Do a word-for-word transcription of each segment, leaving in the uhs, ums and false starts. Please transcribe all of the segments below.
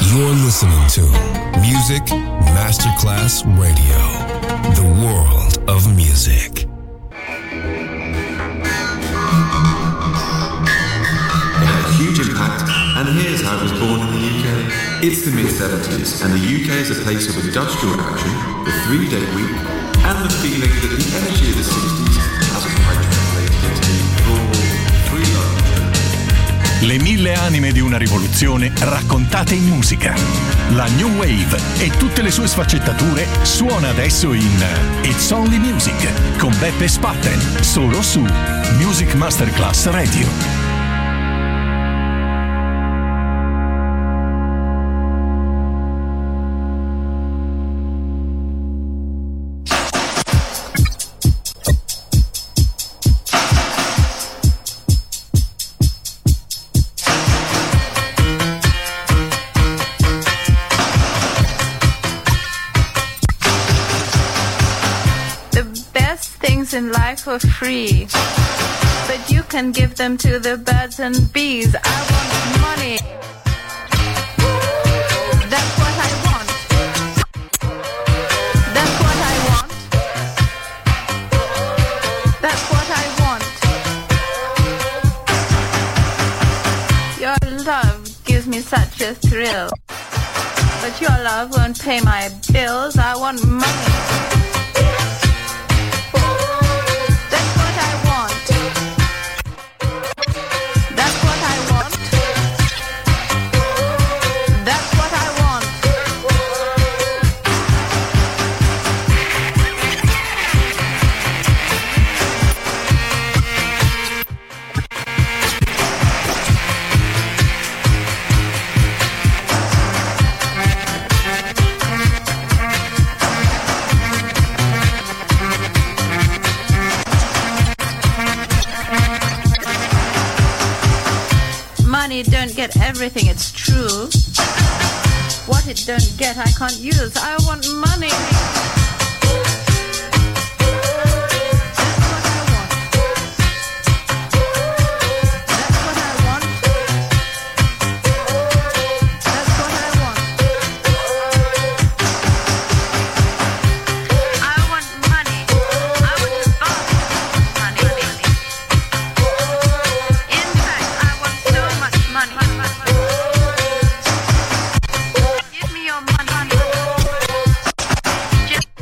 You're listening to Music Masterclass Radio, the world of music. It had a huge impact, and here's how it was born in the U K. It's the mid seventies, and the U K is a place of industrial action, the three-day week, and the feeling that the energy of the sixties hasn't quite translated into raw, free love. Le mille anime di una rivoluzione raccontate in musica. La New Wave e tutte le sue sfaccettature suona adesso in It's Only Music con Beppe Spatten, solo su Music Masterclass Radio. In life for free, but you can give them to the birds and bees. I want money. That's what I want. That's what I want. That's what I want. Your love gives me such a thrill, but your love won't pay my bills. I want money. Money don't get everything, it's true. What it don't get, I can't use. I want money. Give me your money. Just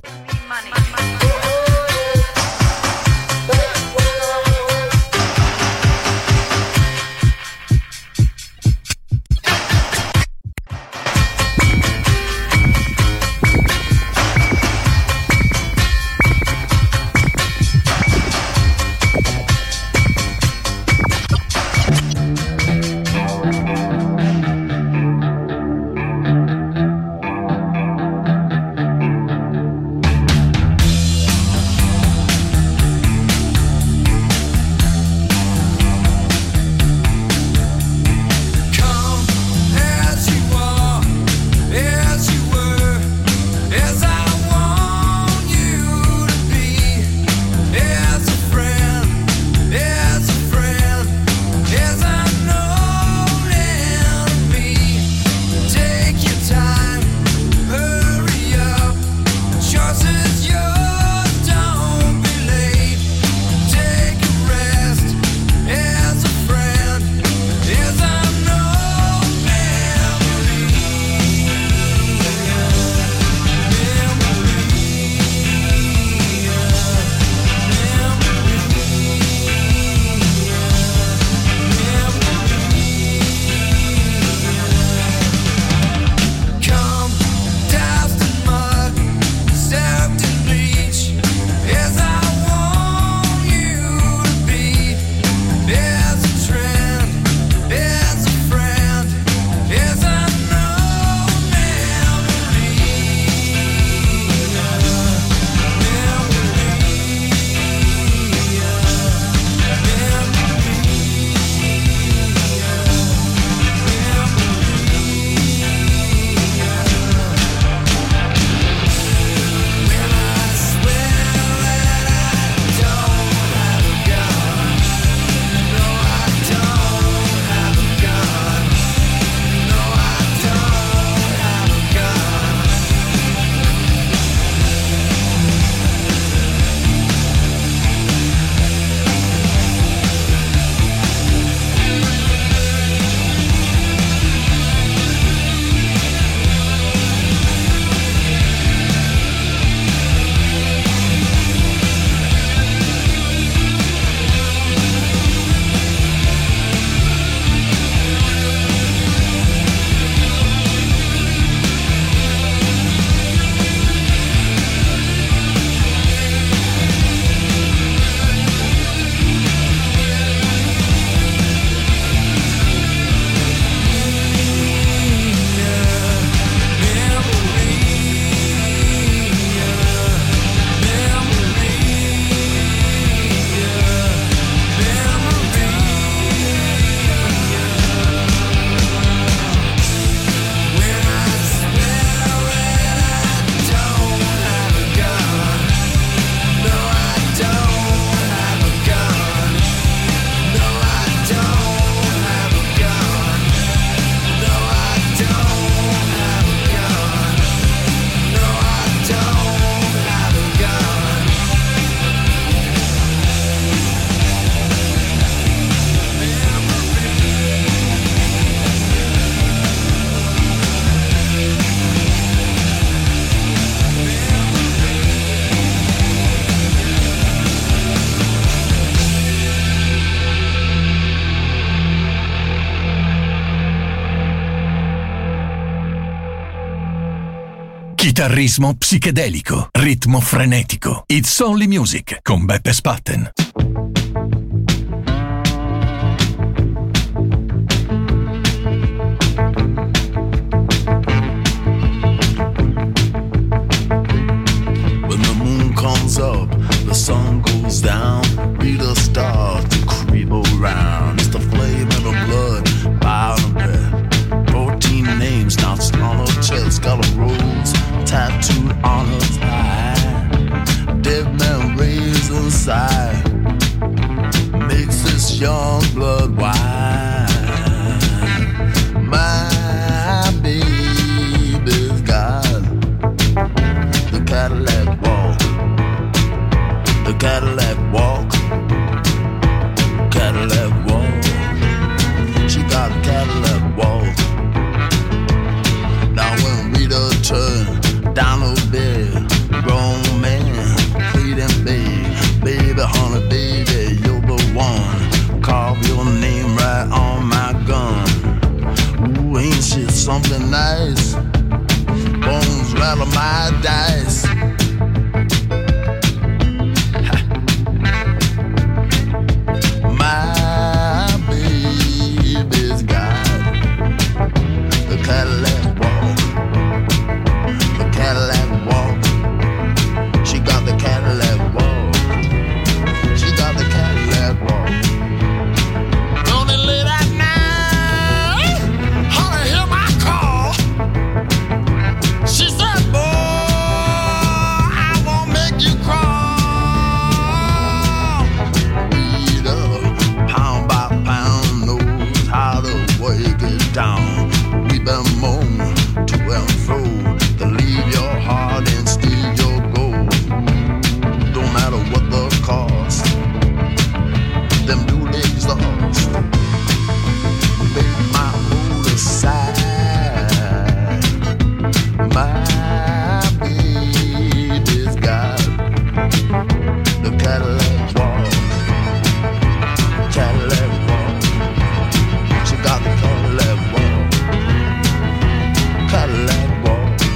Chitarrismo psichedelico, ritmo frenetico. It's Only Music con Beppe Spatten. When the moon comes up, the sun goes down, Rita starts to creep around. It's the flame in her blood, bound to bed. Fourteen names notched on her chest, got a rose tattooed on her thigh. Dead man raised inside, makes this young blood wine. My baby's got the Cadillac walk, the Cadillac walk, Cadillac walk. She got a Cadillac walk. Now when Rita turned down her bed, grown man pleading, babe, baby, honey, baby, you're the one. Carve your name right on my gun. Ooh, ain't shit something nice? Bones rattle my dice. My baby's got the Cadillac walk, the Cadillac walk. She got the Cadillac walk. She got the Cadillac walk. Don't it late at night? Honey, hear my call. She said, boy, I won't make you crawl. Rita, pound by pound, knows how to work it down. We been moan to and fro to leave your heart and steal your gold. Don't matter what the cost, them new ladies lost. Make my mood aside. My baby's got the Cadillac walk, Cadillac walk. She got the Cadillac walk, Cadillac walk.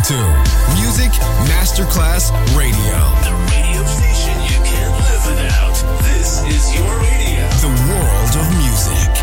to Music Masterclass Radio. The radio station you can't live without. This is your radio. The world of music.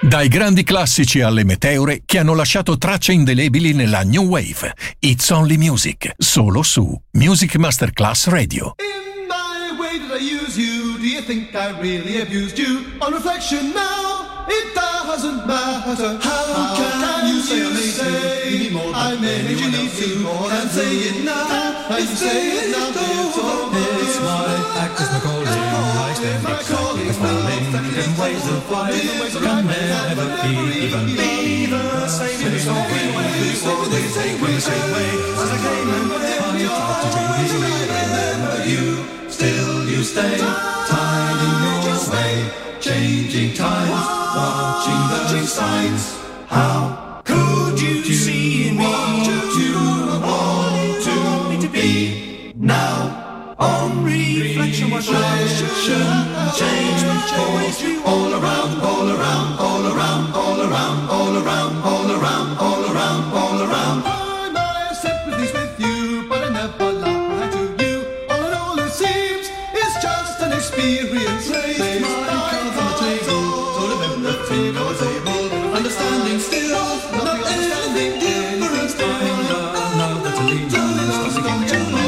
Dai grandi classici alle meteore che hanno lasciato tracce indelebili nella New Wave. It's Only Music, solo su Music Masterclass Radio. In my way did I use you? Do you think I really abused you? On reflection now, it doesn't matter. How, How can, can you say, say I made you need to more than say it now? I say it now, it's all It's my act is my calling. I stand exactly falling in ways of life can never be even be the same in the story. Always take me the same way as I came and I tried to remember you. Still you stay tied in your way, changing times, watching those signs. How could you see me to want to be now? On reflection, reflection, change force all around, all around, all around, all around, all around, all around, all around, all around. I might have sympathies with you, but I never lie to you. All in all, it seems it's just an experience. Raise my cards on the table, sort of empty on the table. Understanding still, not anything different. Find out now that to leave you, starting to change.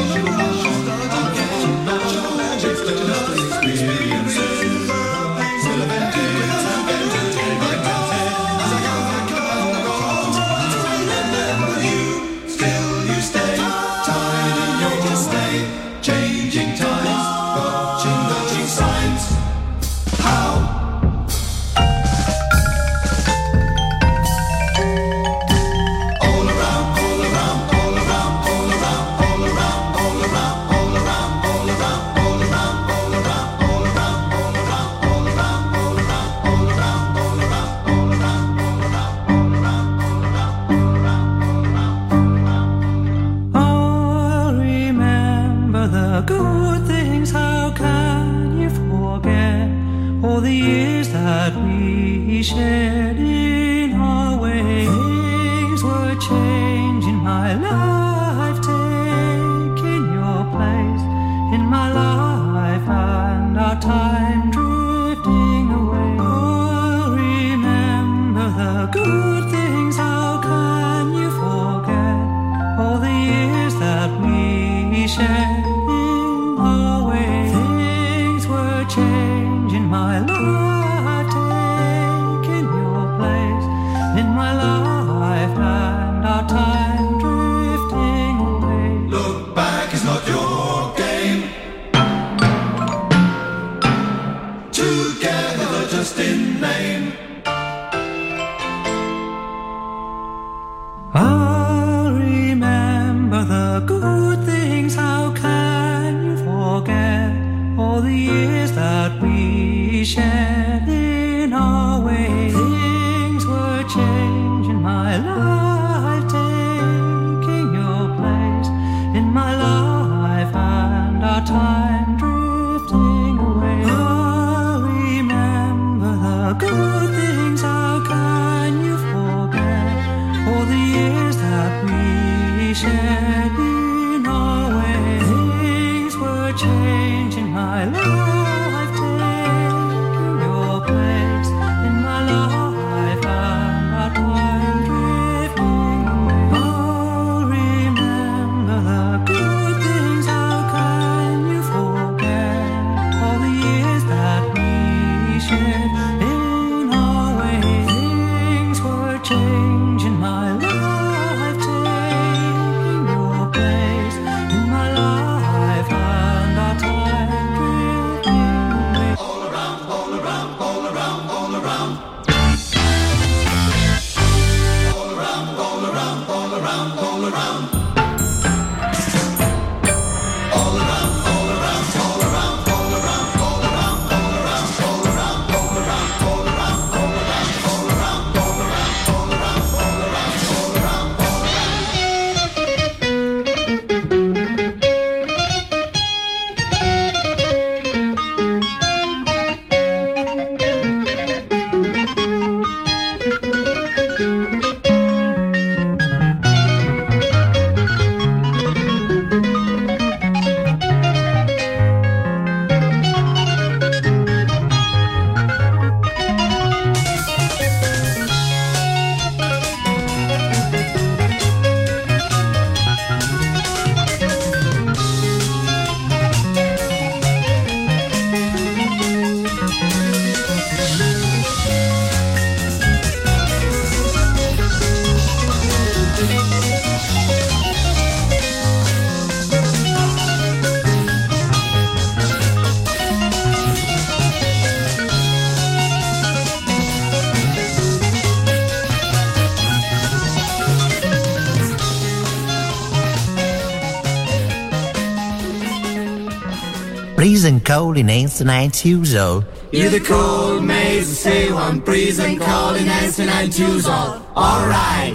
Shared in our way, things were changing my life, taking your place in my life, and our time drifting away. Oh, remember the good things, how can you forget all the years that we shared in our way? Things were changing my life, in my life, and our time drifting away. Look back is not your game. Together just in name. I'll remember the good things, how can you forget all the years that we shared in our way? Changing my life, taking your place in my life, and our time drifting away. I remember the good things, how can you forget all the years that we shared in our way? Things were changing my life, taking your place freezing cold in eighty-nine years old. You're the cold maze, say one freezing cold in eighty-nine years old. All right.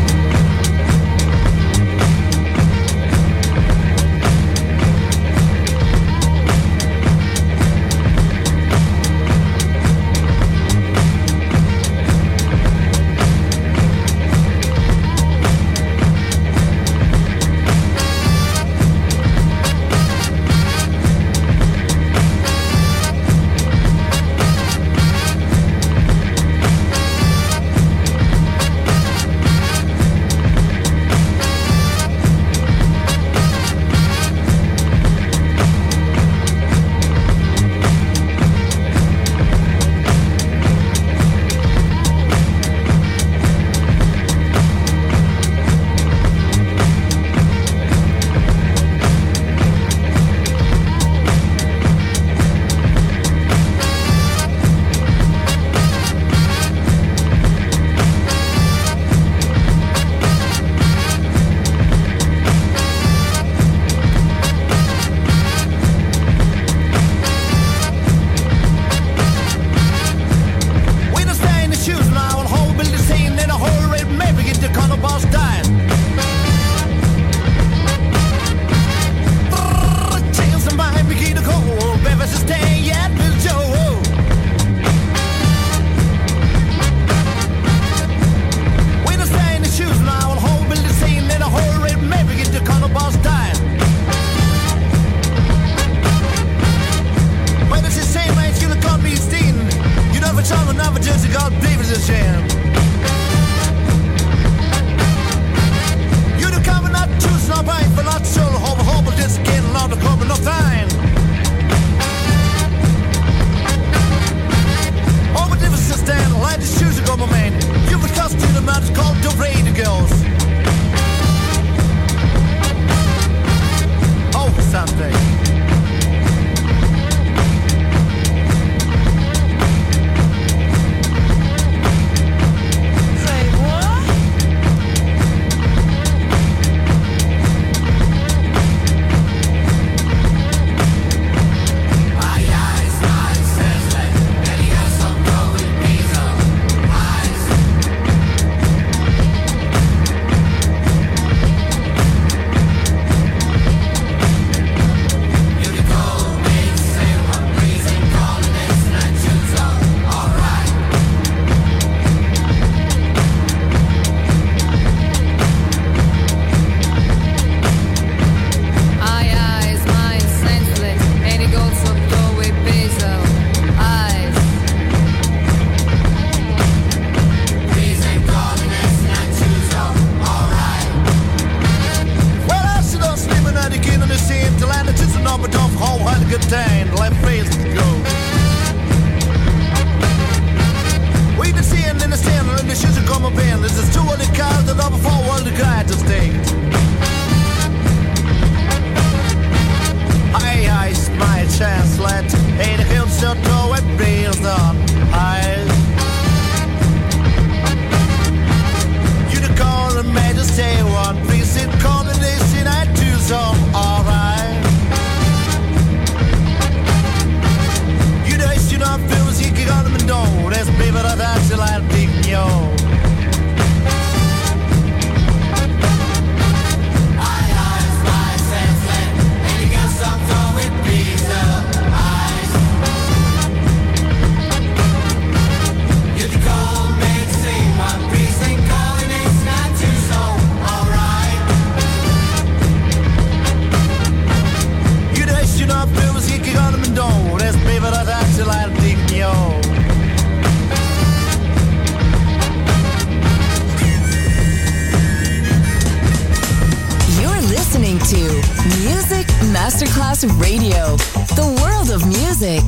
Masterclass Radio, the world of music.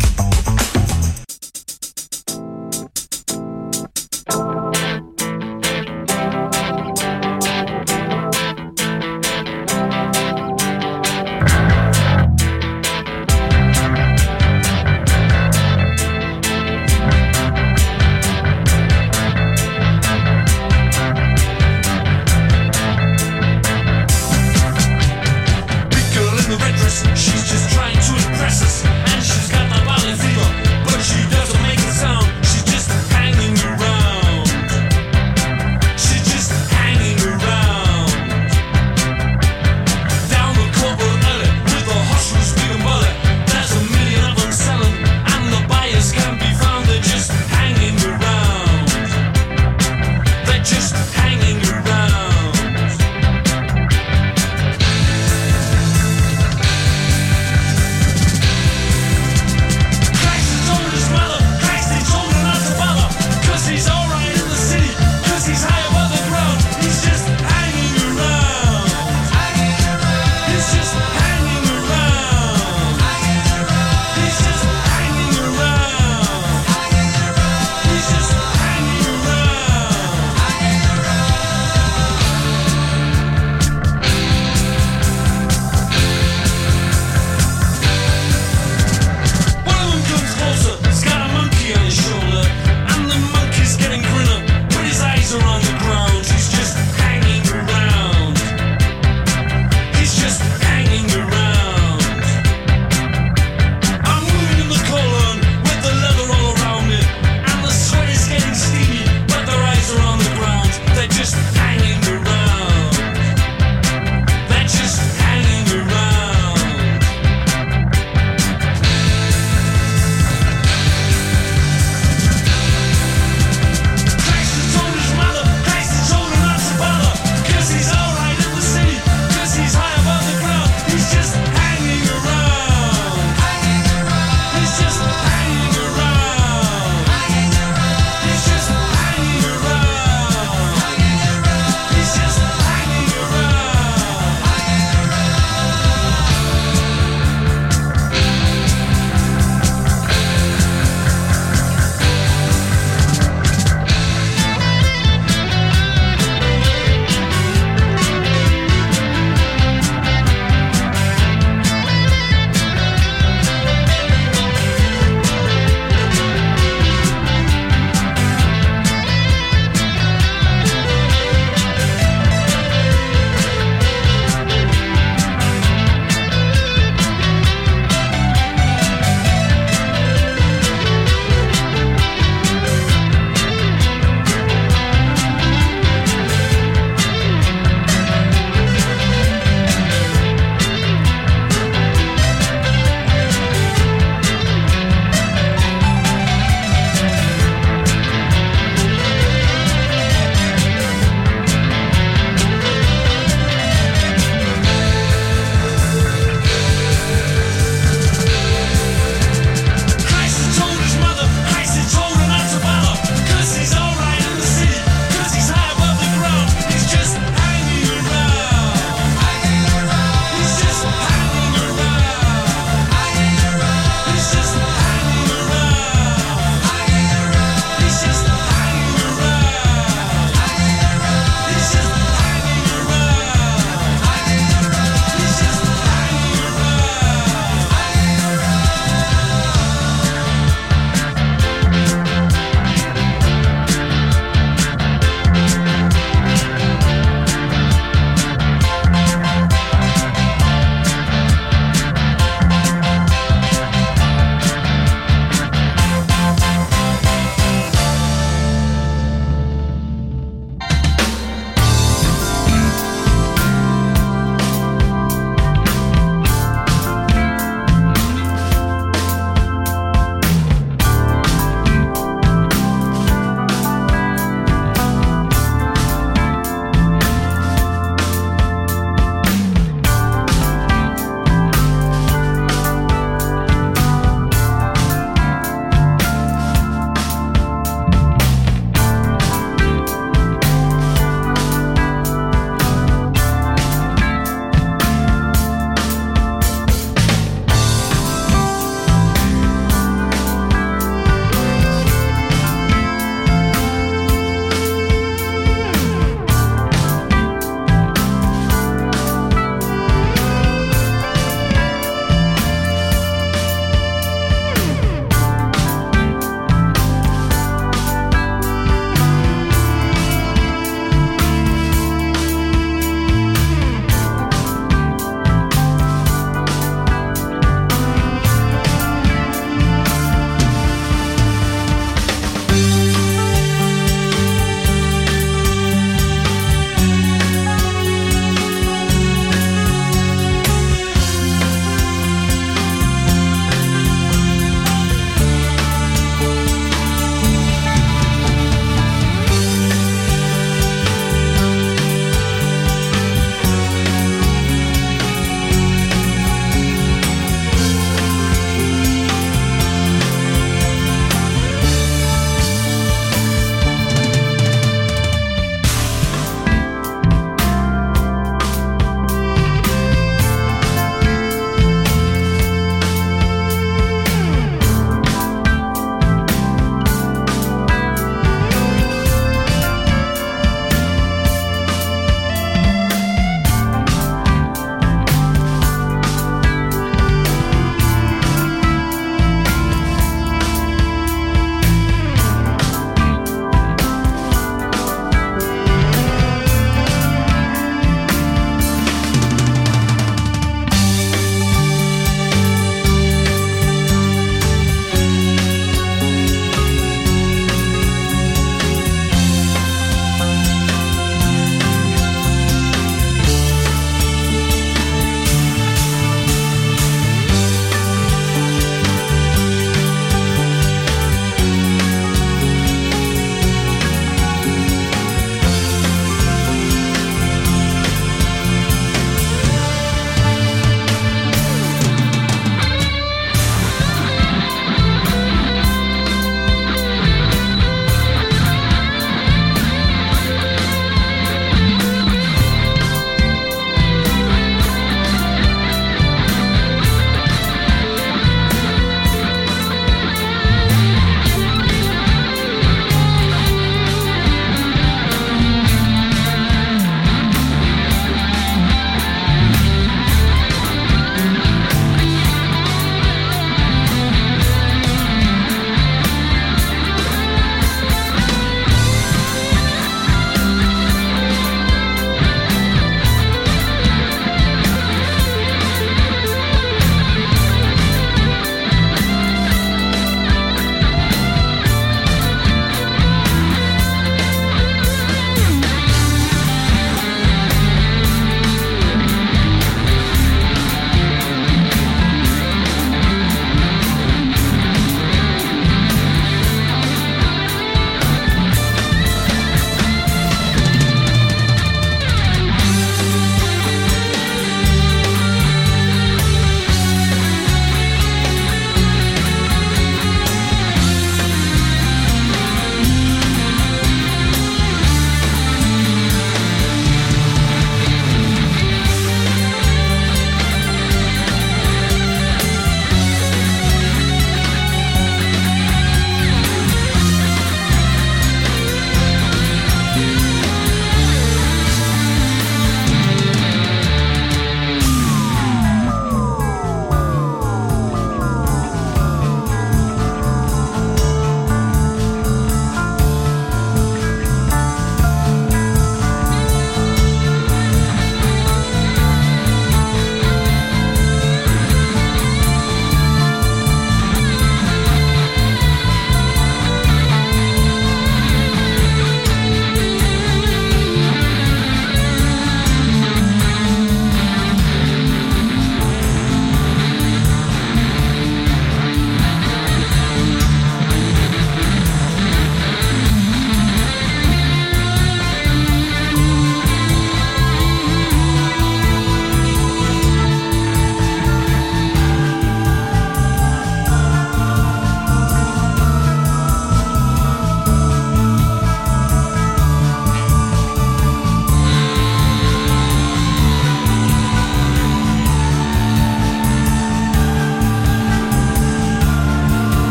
She's just trying to impress us.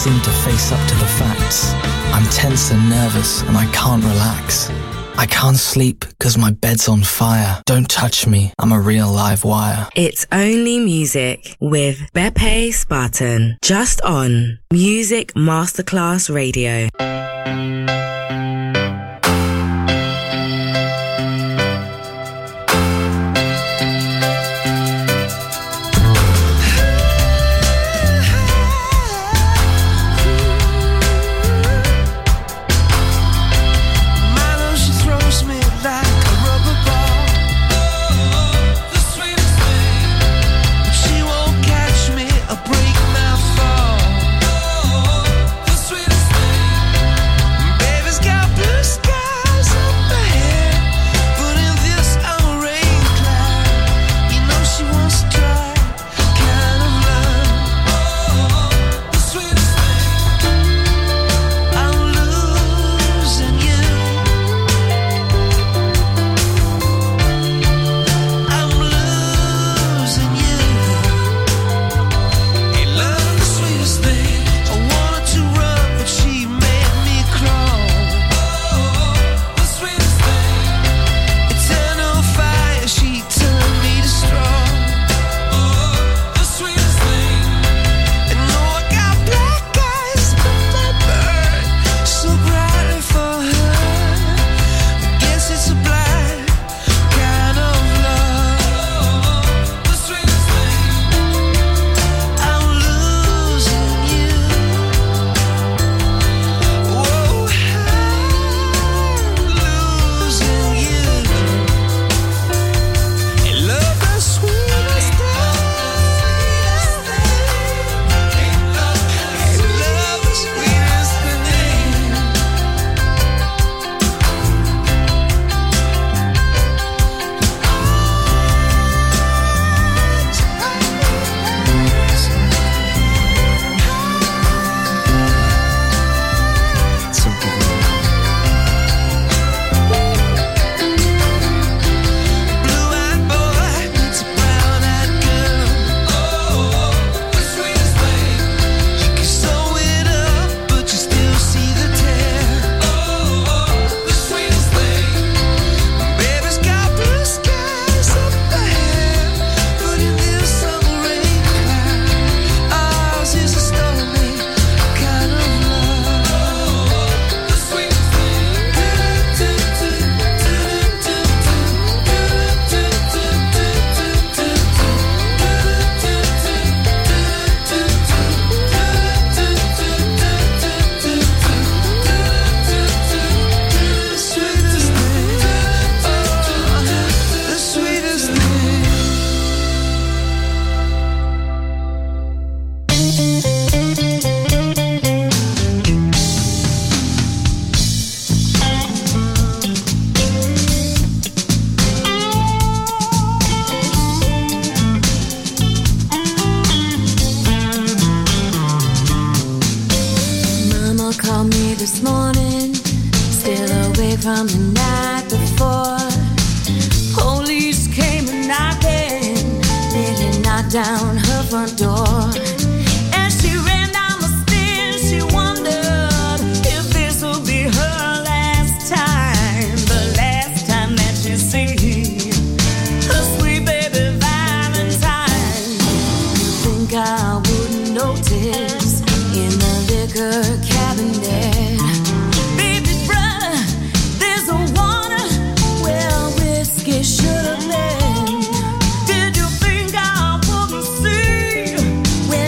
seem to face up to the facts. I'm tense and nervous and I can't relax. I can't sleep because my bed's on fire. Don't touch me, I'm a real live wire. It's Only Music with Beppe Spartan, just on Music Masterclass Radio. Should have been. Did you think I wouldn't see when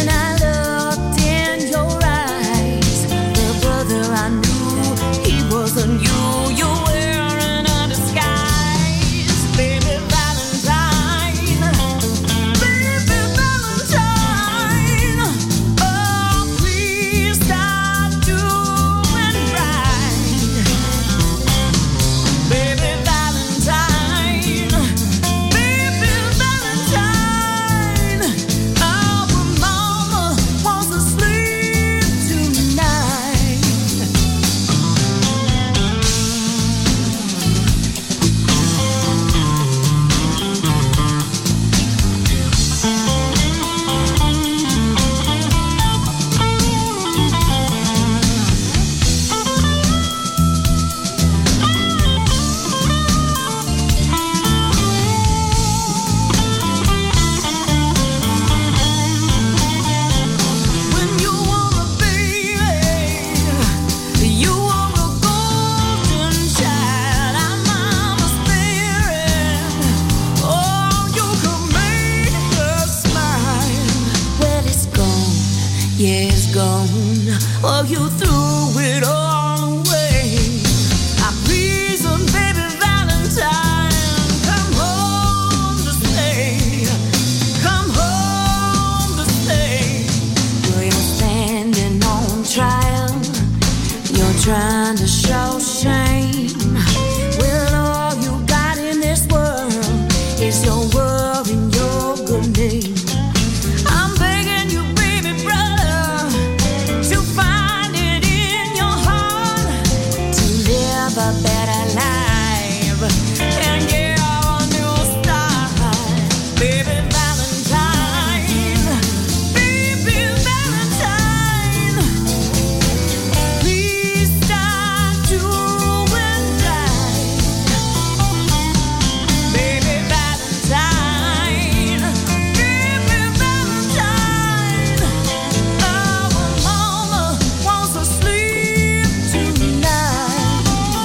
Well, you threw it all away. I please, oh, baby Valentine, come home to stay. Come home to stay. Well, you're standing on trial. You're trying to show shame. Well, all you got in this world is your word and your good name. I'm begging you, baby brother, to find it in your heart to live a better life and get a new start. Baby Valentine, baby Valentine, please stop doing that. Baby Valentine, baby Valentine, our mama wants to sleep tonight.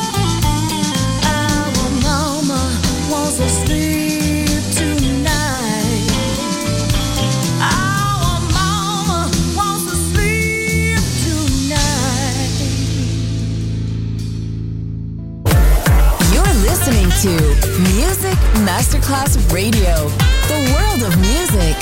Our mama wants to sleep tonight. Our mama wants to sleep tonight. You're listening to Music Masterclass Radio, the world of music.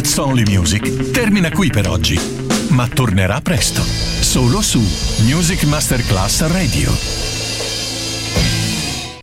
It's Only Music termina qui per oggi, ma tornerà presto, solo su Music Masterclass Radio.